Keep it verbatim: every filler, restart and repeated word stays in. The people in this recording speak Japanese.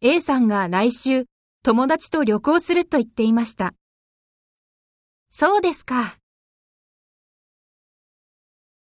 A さんが来週友達と旅行すると言っていました。そうですか。